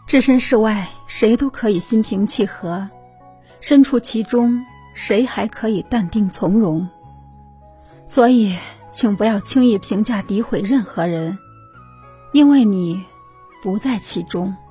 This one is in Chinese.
置身事外，谁都可以心平气和，身处其中，谁还可以淡定从容。所以请不要轻易评价诋毁任何人，因为你不在其中。